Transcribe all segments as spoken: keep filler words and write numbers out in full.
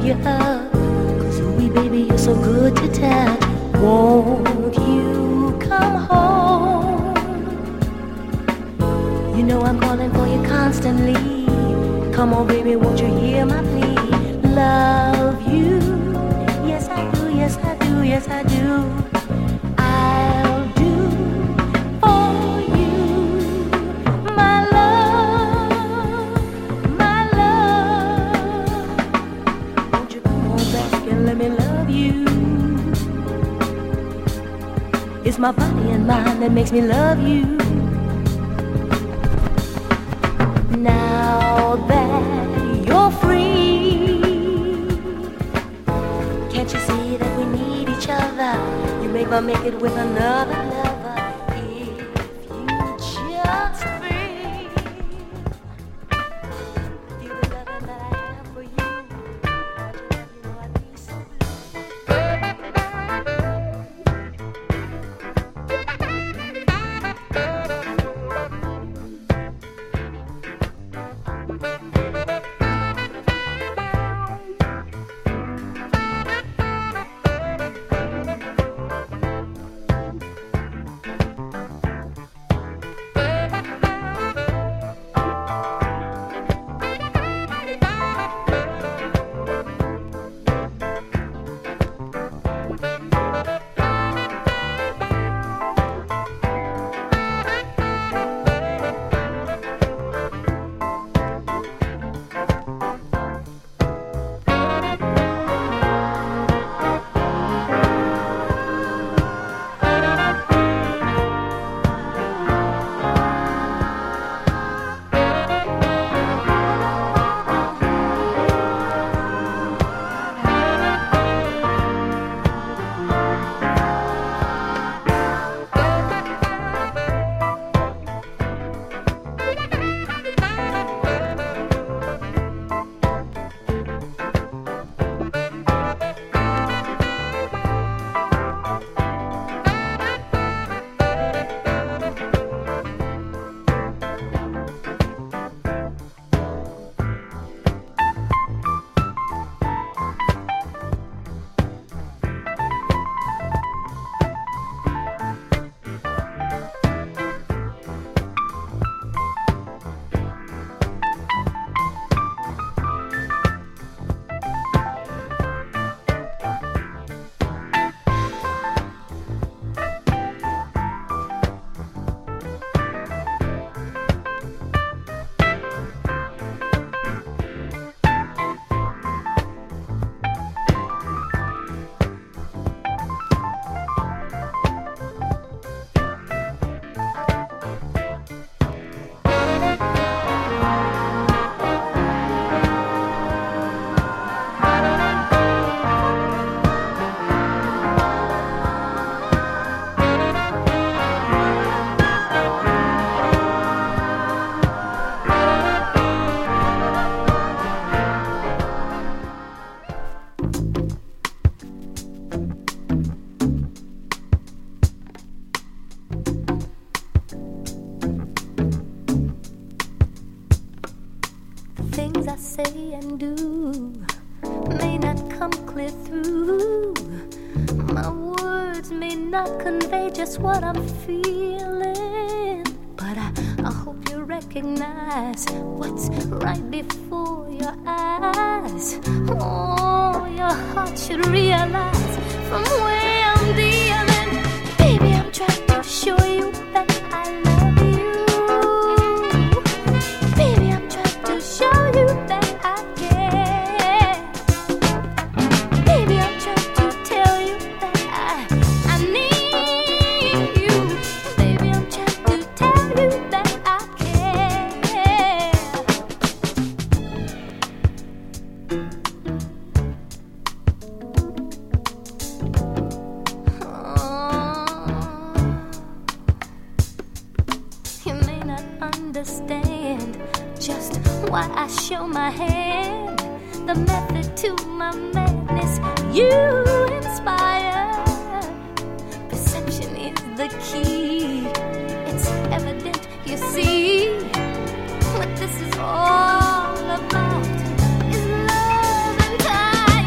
you up. Cause ooh, baby, you're so good to touch. Won't you come home? You know I'm calling for you constantly. Come on, baby, won't you hear my plea? Love you, yes I do, yes I do, yes I do. I'll do for you, my love, my love. Won't you come on back and let me love you? It's my body and mind that makes me love you. Now that you're free, can't you see that we need each other? You may well make it with another lover if you just feel, feel the loving that I have for you. You know I'd be so say and do may not come clear through. My words may not convey just what I'm feeling, but I, I hope you recognize what's right before your eyes. Oh, your heart should realize from where I'm dealing. Baby, I'm trying to show you that I love you. Baby, I'm trying to show you that why I show my hand, the method to my madness you inspire. Perception is the key. It's evident, you see, what this is all about is love and time.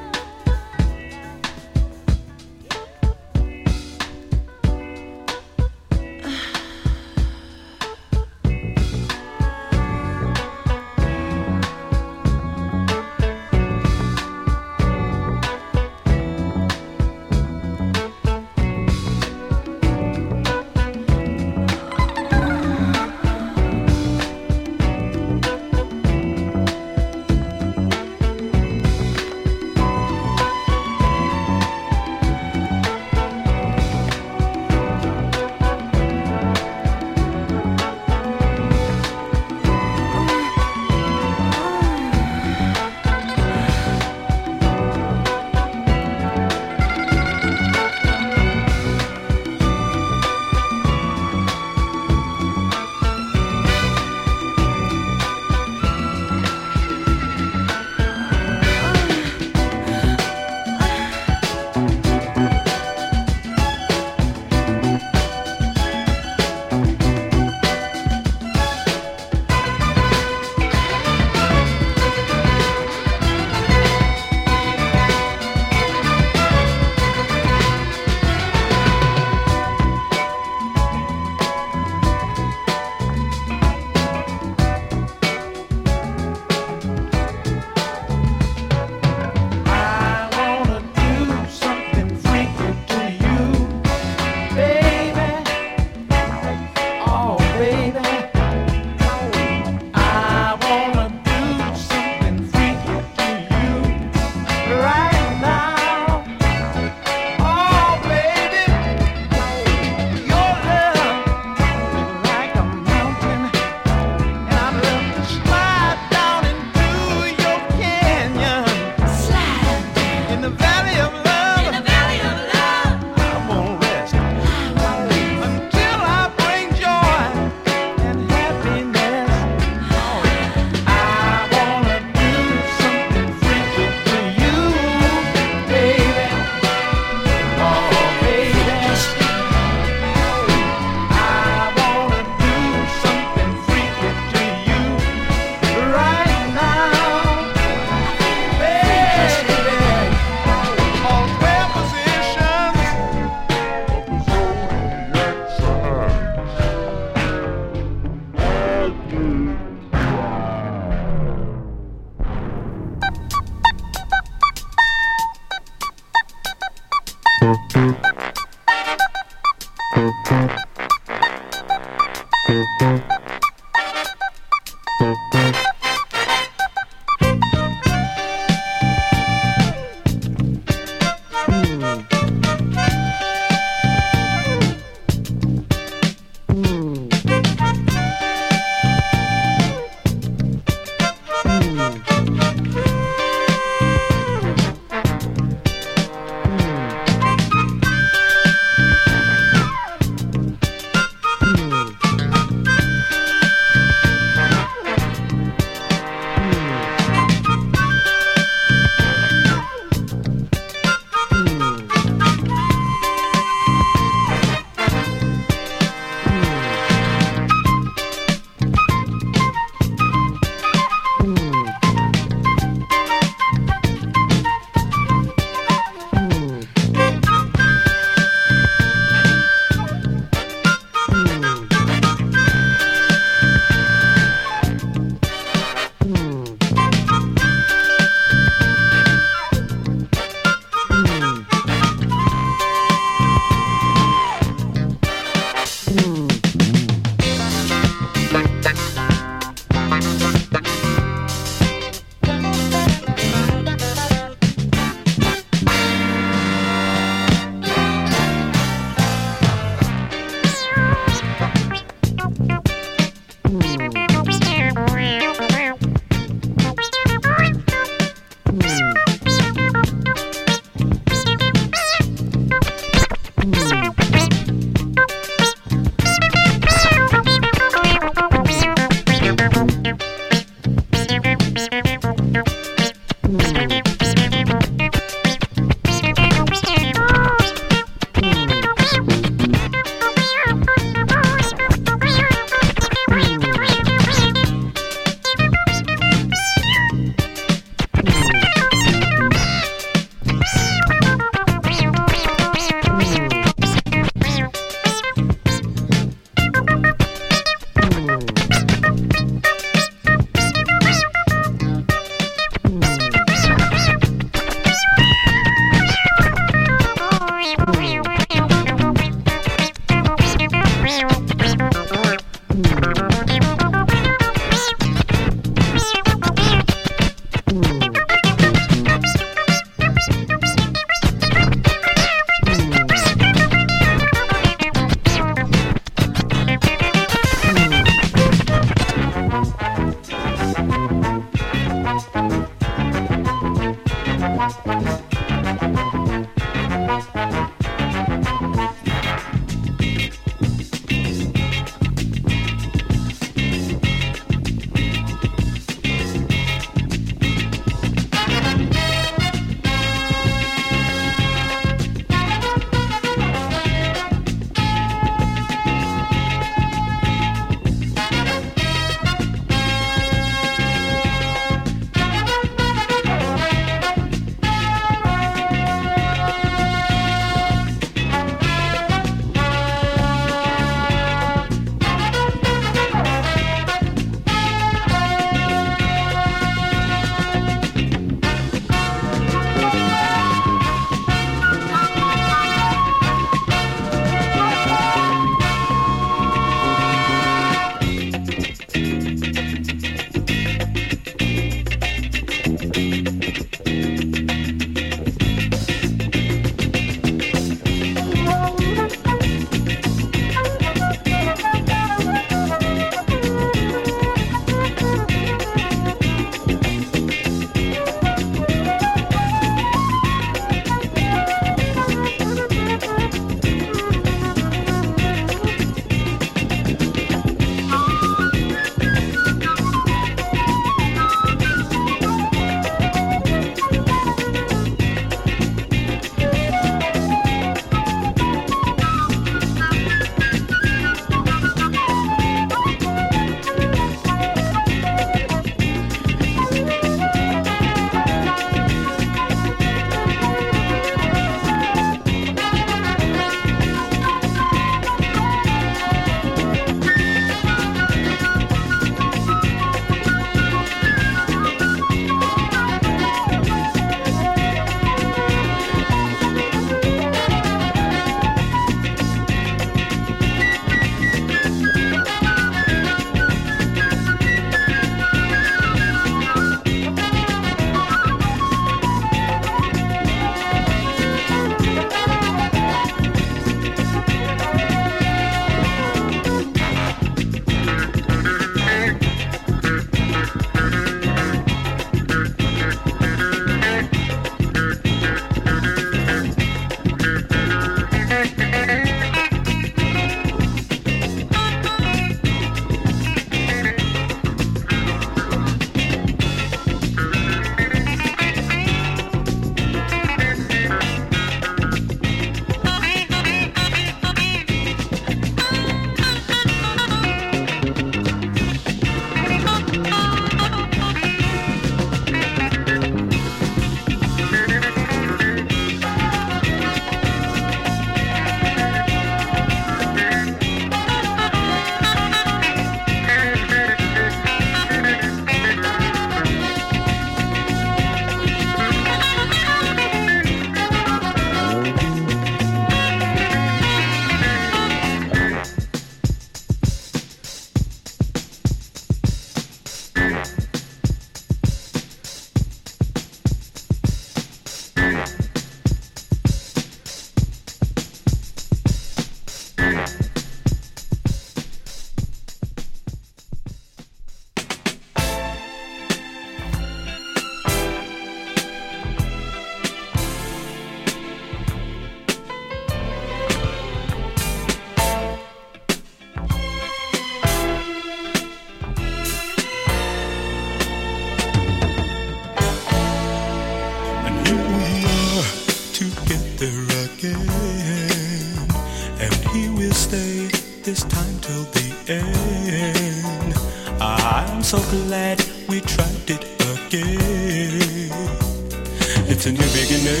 so glad we tried it again. It's a new beginning,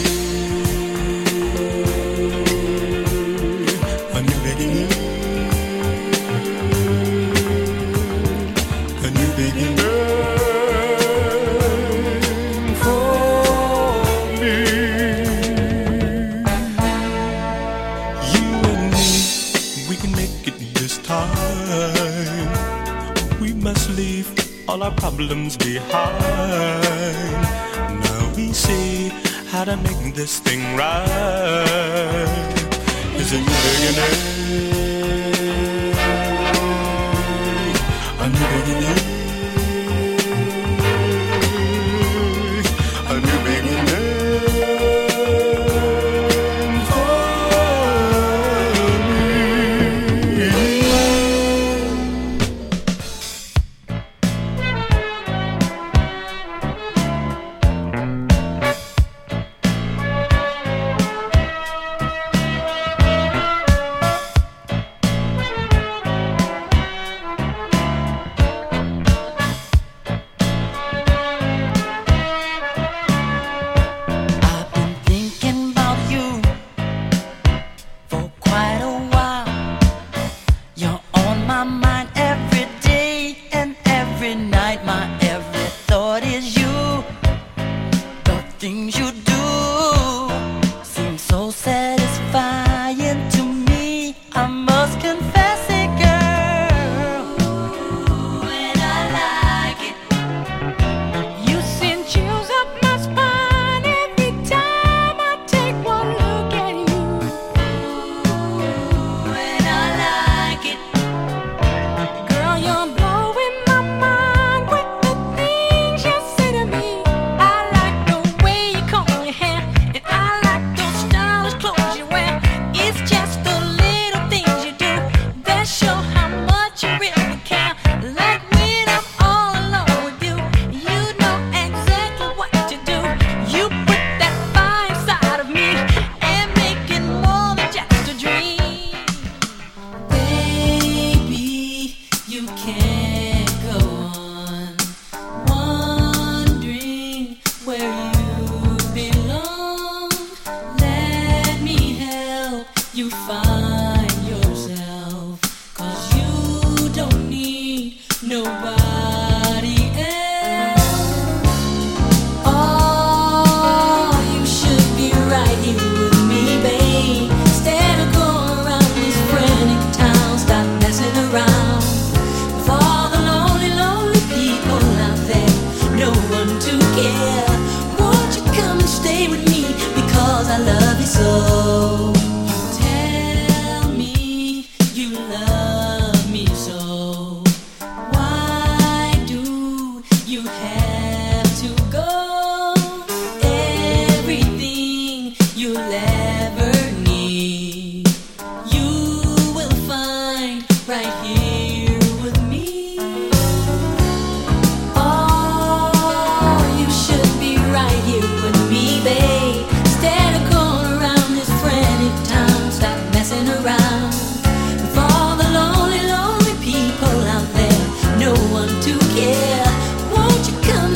a new beginning, a new beginning for me. You and me, we can make it this time. We must leave all our problems behind. Now we see how to make this thing right. It's a new beginning, a new beginning, a new beginning for me. Come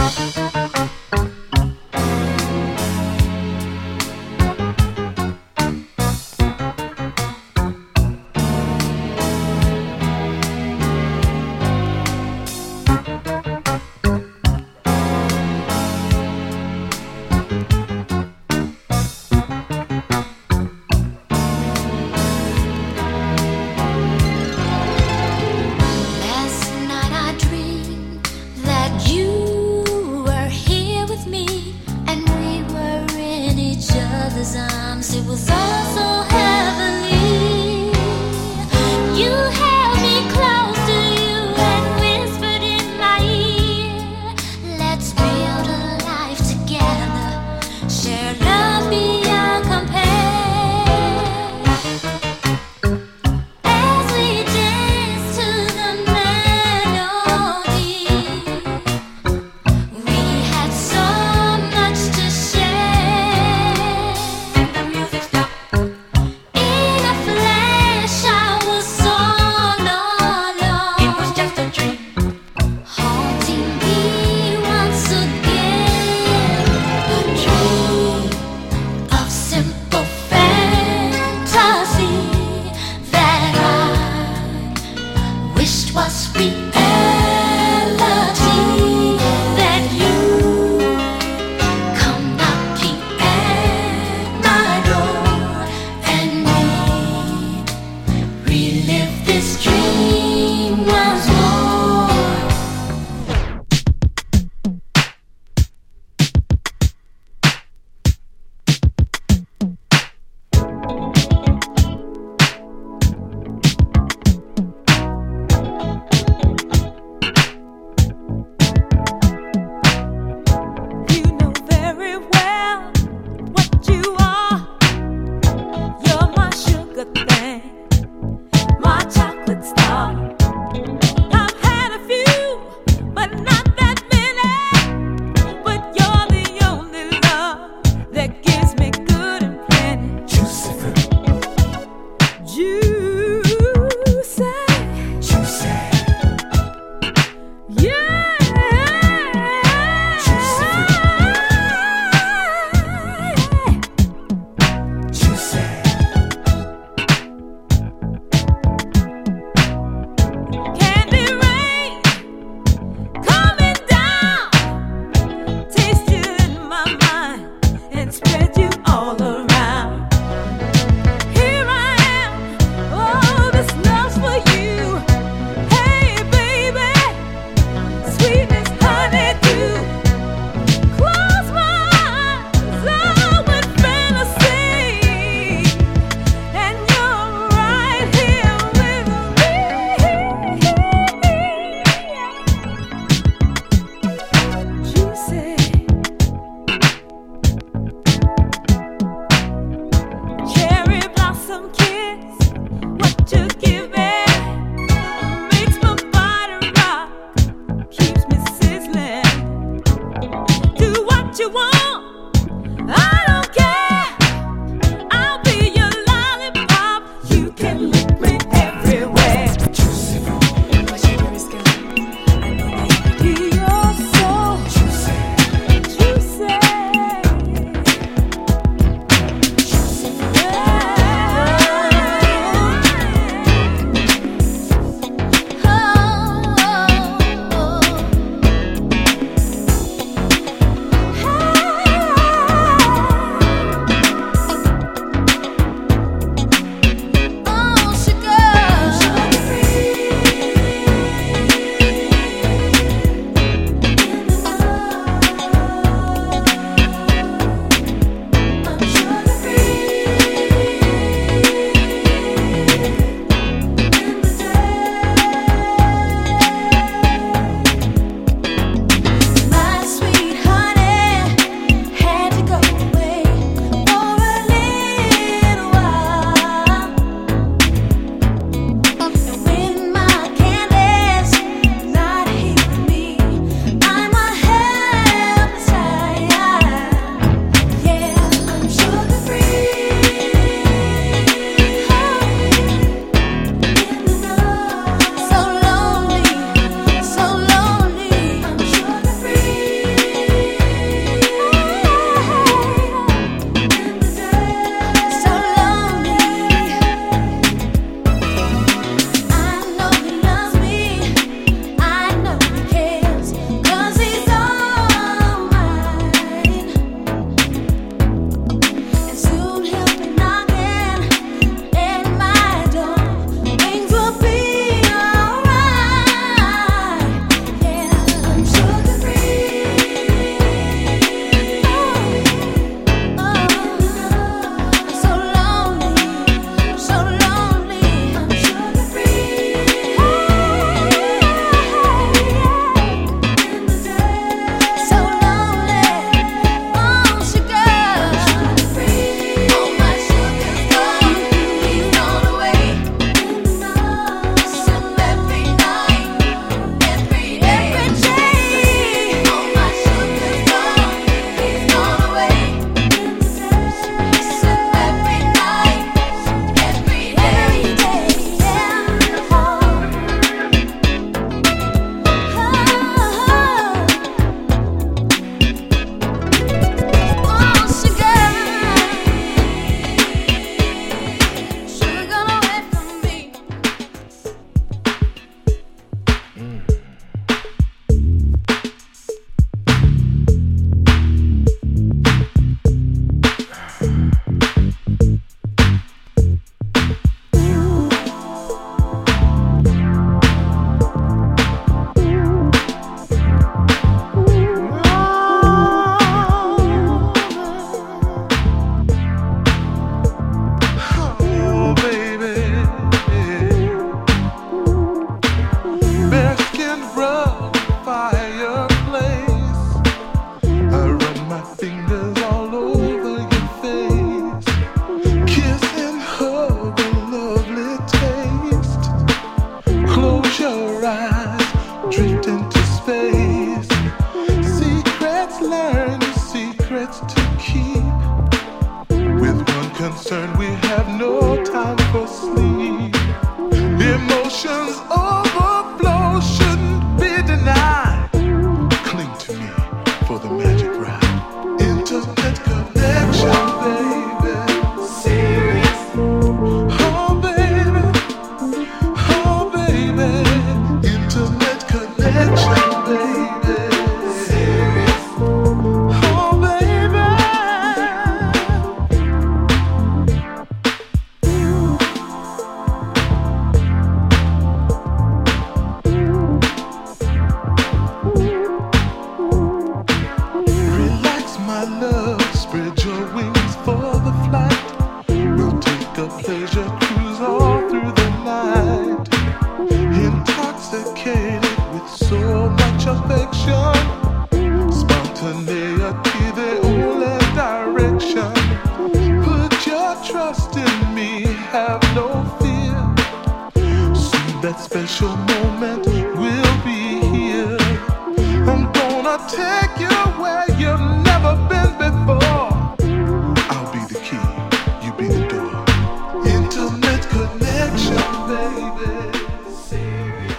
Oh, concerned, we have no time for sleep. Emotions overflow, shouldn't be denied. Cling to me for the magic ride. Intimate connection, baby. Serious. Oh, baby. Oh, baby. Intimate connection, baby. Serious. Oh, baby. Relax, my love. Spread your wings for the flight. We'll take a pleasure cruise all through the night. Intoxicated with so much affection. Spontaneity, the only direction. Put your trust in me, have no fear. Soon that special moment will be here. I'm gonna take you where you've never been before. I'll be the key, you be the door. Intimate connection, baby. Serious.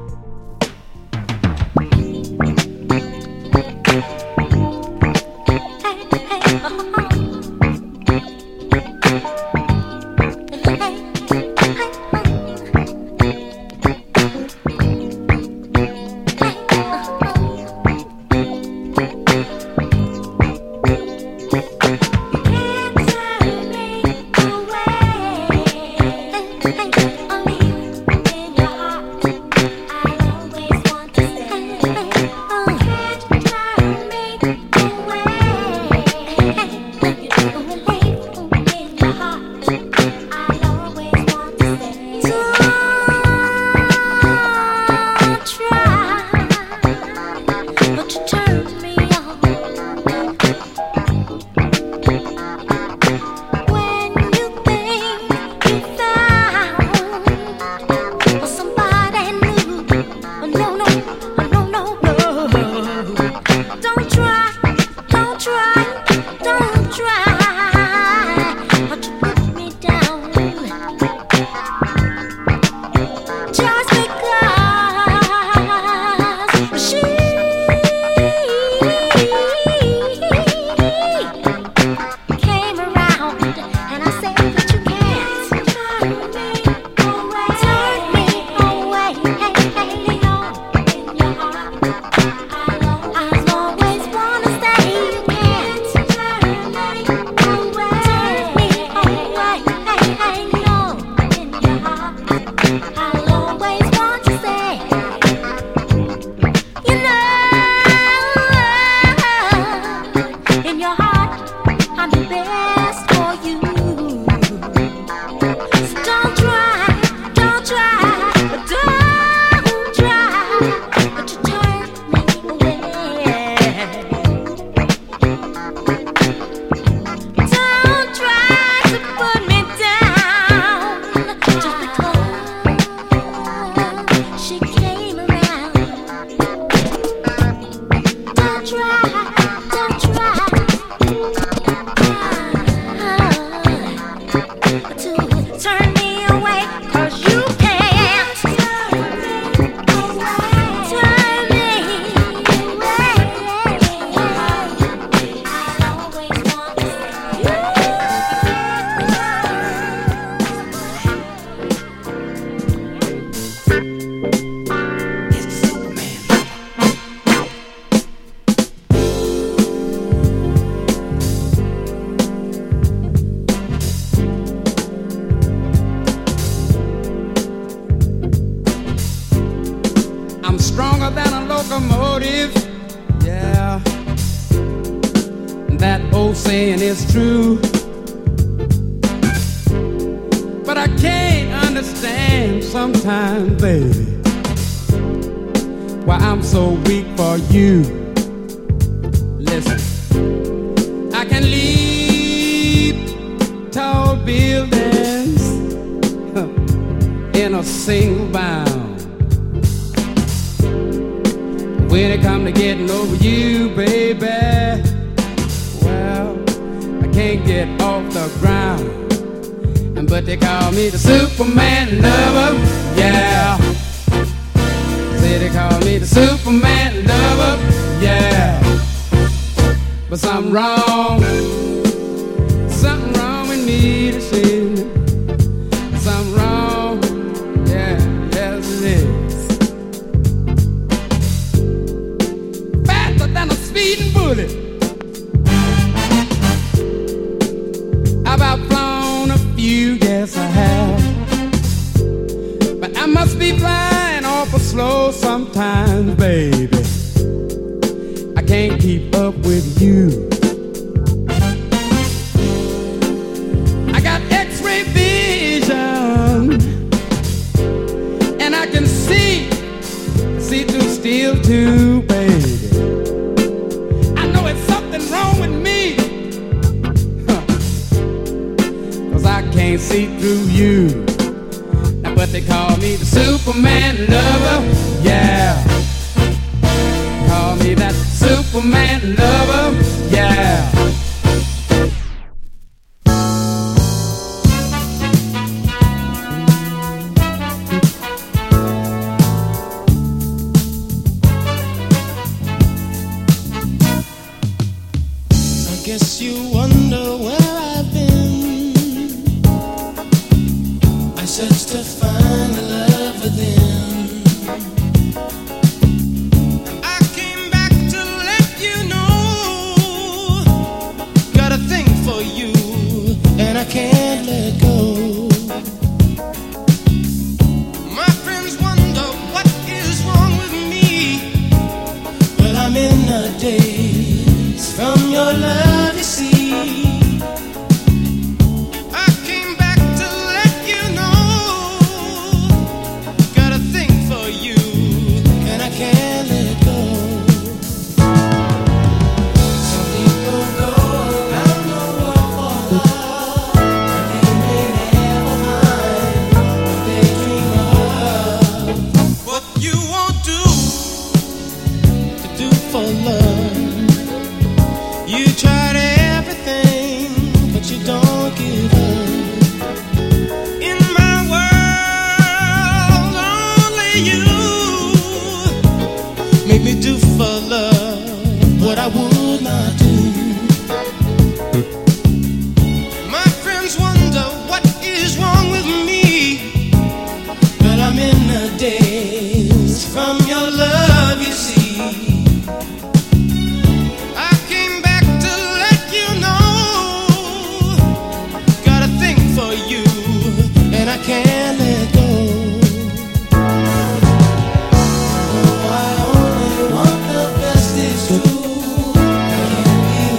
locomotive, yeah. That old saying is true, but I can't understand sometimes, baby, why I'm so weak for you. Listen, I can leap tall buildings in a single bound. When it comes to getting over you, baby, well, I can't get off the ground. but they call me the Superman lover, yeah. Say they call me the Superman lover, yeah. But something wrong, something wrong with me to see. Something wrong, yeah, yes it is. Faster than a speeding bullet, I've outflown a few, yes I have. But I must be flying awful slow sometimes, baby. I can't keep up with you. I got X-ray vision, and I can see, see through steel too, baby. I know it's something wrong with me, huh, 'cause I can't see through you. Now, but they call me the Superman lover, yeah. Call me that Superman lover, yeah. I guess you wonder where I've been. I searched to find the love within. I came back to let you know. Got a thing for you, and I can't let go. My friends wonder what is wrong with me. Well, I'm in a daze from your love, you see. I came back to let you know. Got a thing for you, and I can't let go. Some people go around the world for love, and they may never find what they dream of. What you won't do to do for love. You tried everything, but you don't give up. In my world, only you make me do for love what I would not do. My friends wonder what is wrong with me, but I'm in a daze from your love, you see. I came back to let you know. Got a thing for you, and I can't let go. Oh, I only want the best, it's true. I can't be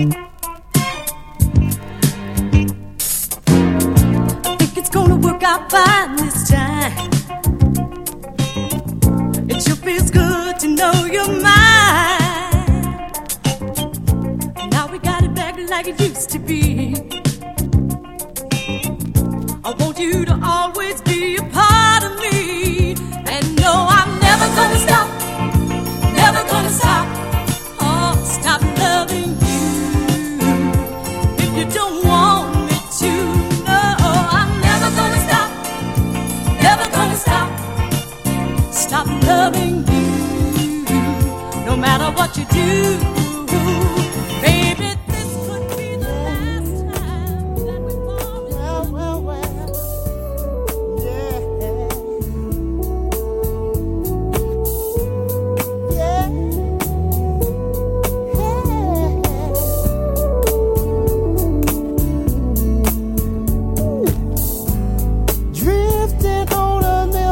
Fine this time. It sure feels good to know you're mine. Now we got it back like it used to be. I want you to always be a part of me. And no, I'm never gonna stop, never gonna stop, oh, stop loving you. If you don't want me to, stop, stop loving you, no matter what you do, baby. This could be the last time that we fall. Well, well, well, yeah, yeah, yeah. Drifting on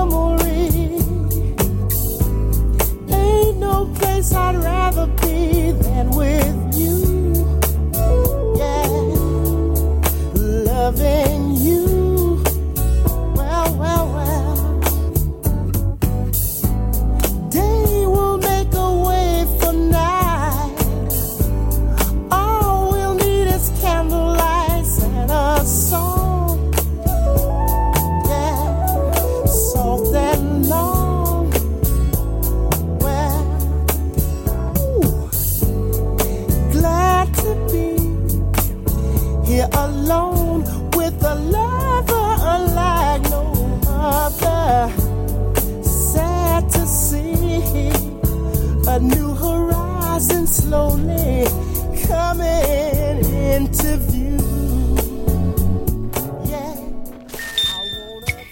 I'd rather be than with you, yeah, loving you, well, well, well, day will make a way for night, all we'll need is candlelight and a song, yeah, soft and long. Here alone with a lover unlike no other. Sad to see a new horizon slowly coming into view. Yeah, I wanna be.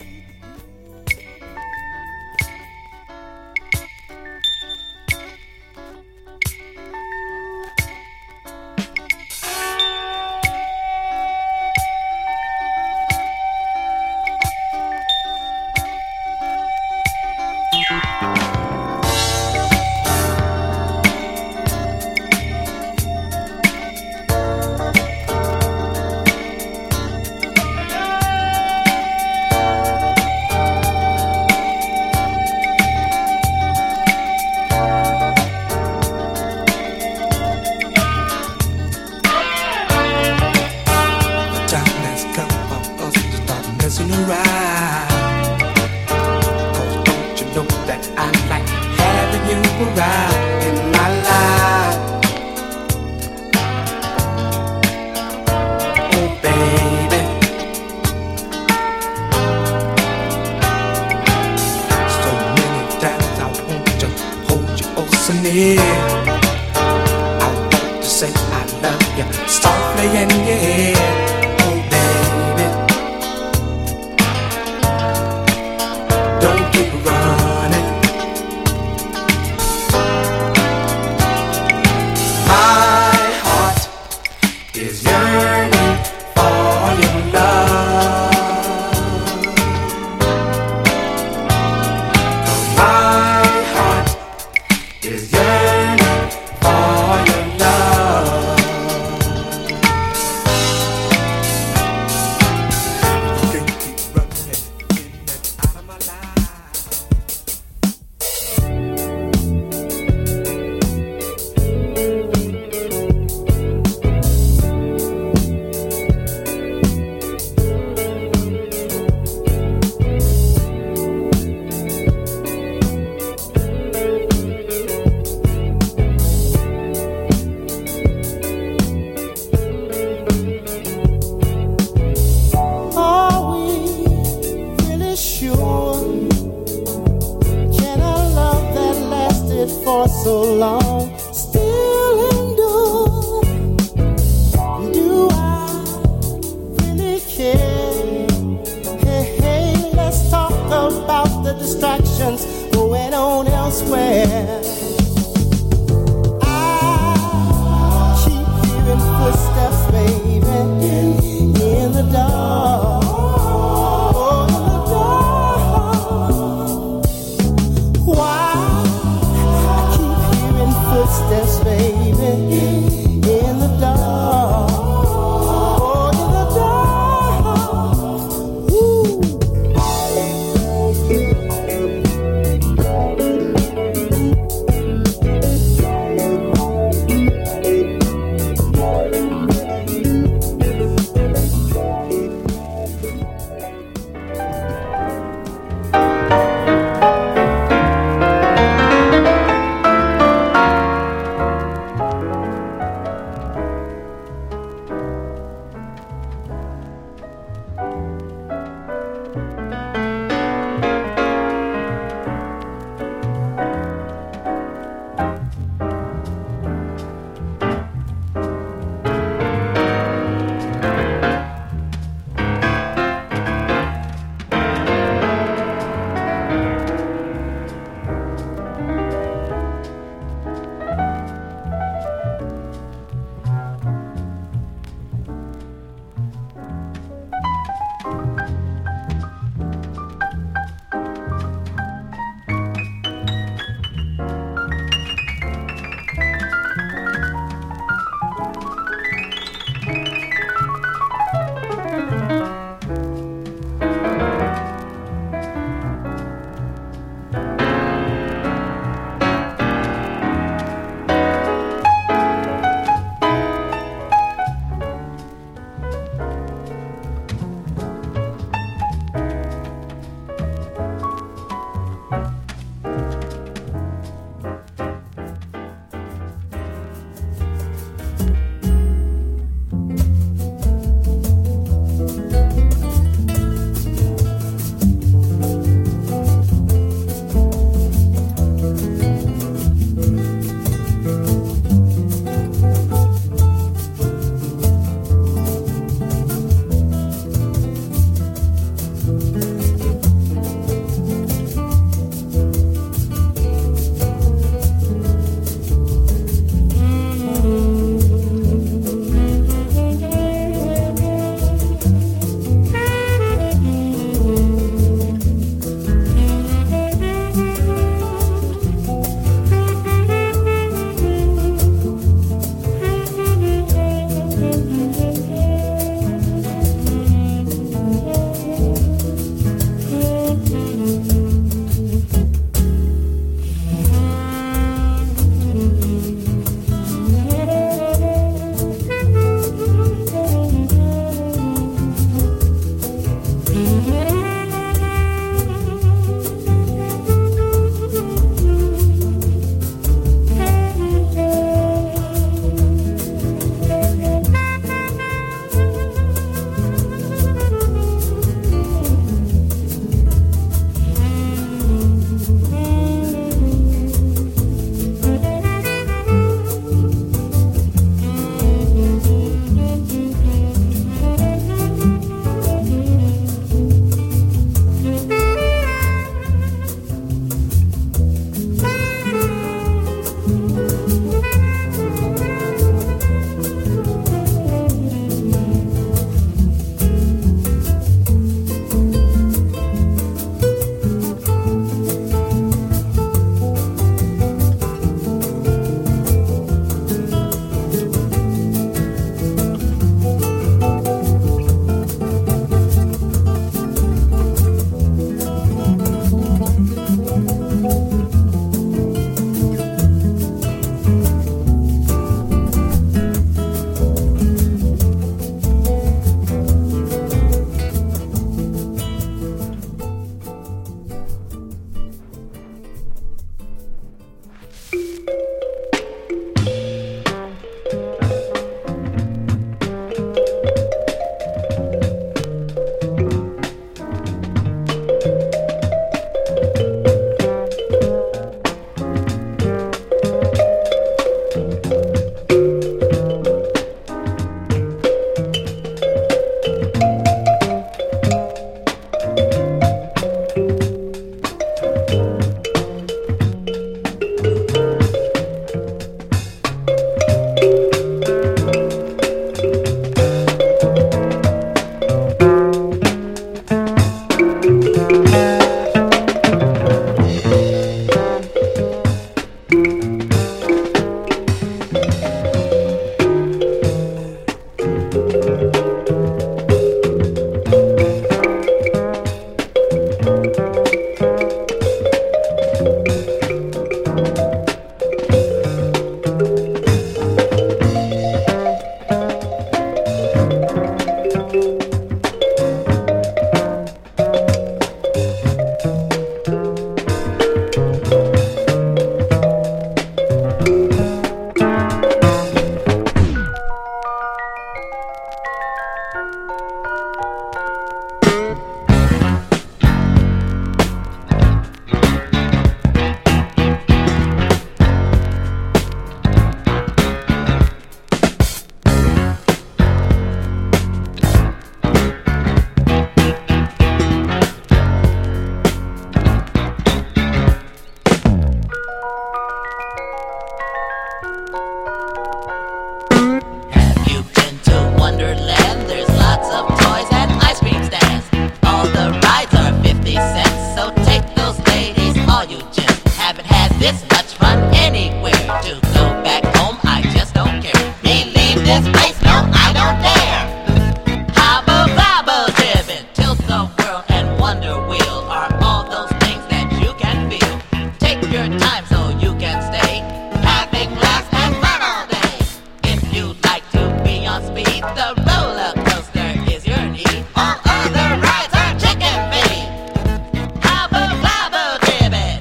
The roller coaster is your need. All other rides are chicken feed. Hobble gobble gibbet.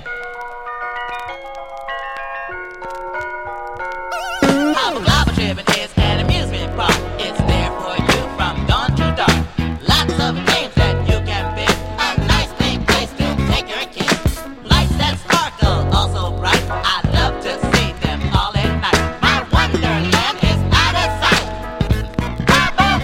Hobble gobble gibbet is an amusement park. It's there for you from dawn to dark. Lots of games that you can pick. A nice big place to take your kids. Lights that sparkle, also bright. I love to see them all at night. My wonderland is out of sight. Hobble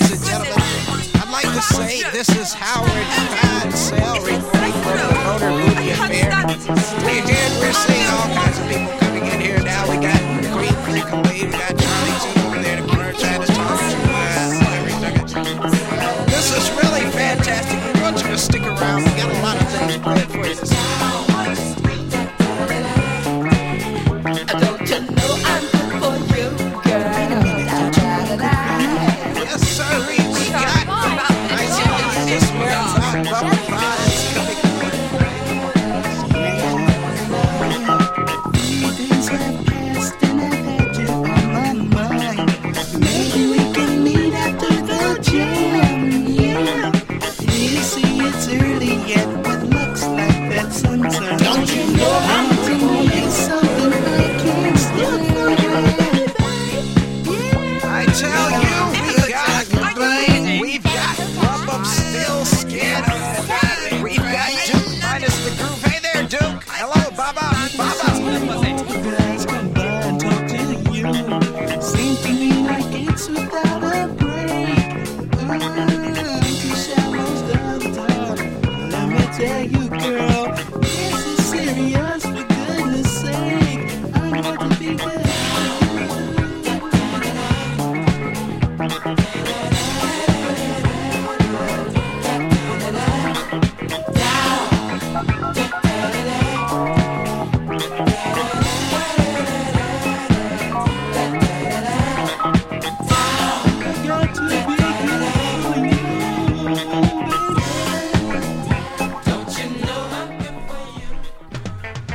ladies and gentlemen, I'd like to say this is Howard Codesell reporting from the Motor Movie Affair. Hey, dude, we're seeing all kinds of people coming in here now. We got Green Creek Away, we got Charlie Tune over there in the corner trying to talk to uh, everything. This is really fantastic. We want you to stick around. We got a lot of things planned for you this evening. Don't you know I'm good for you, girl? Yes, sir. We, we got nice and this man's hot bubble fries coming. Things have passed and I've had you on my mind. Maybe we can meet after the gym. Yeah. You see, it's early yet, but looks like that sunset. Don't you know I'm doing me something I can't stop for you? I tell you, we got we've got Lump of Still Skin. We've got Duke minus the groove. Hey there, Duke. Hello, Baba. Baba. Guys come by and talk to you. Seems to me like it's without a break. Mm, two shallows down talk. Let me tell you, girl, this is serious. For goodness sake, I want to be with you. Got to be good for you, baby. Don't you know I'm good for you?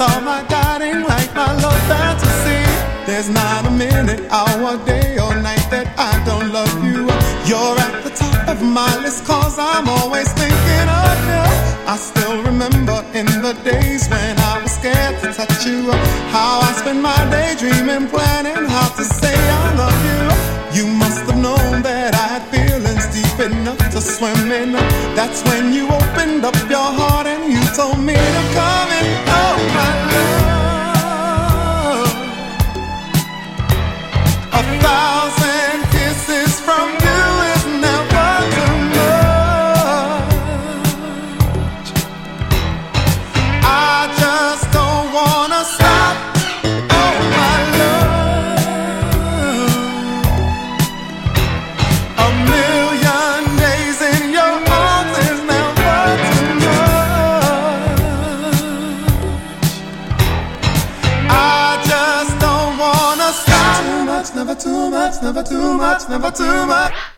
all my guiding light, my love fantasy. There's not a minute, hour, day or night that I don't love you. You're at the top of my list, cause I'm always thinking of you. I still remember in the days when I was scared to touch you, how I spent my day dreaming, planning how to say I love you. You must have known that I had feelings deep enough to swim in. That's when you opened up your heart and you told me to come in. Oh my love, a thousand kisses from you is never too much. I just don't wanna stop. Oh my love, a million days in your arms is never too much. I just don't wanna stop. Too much, never too much, never too much, never too much.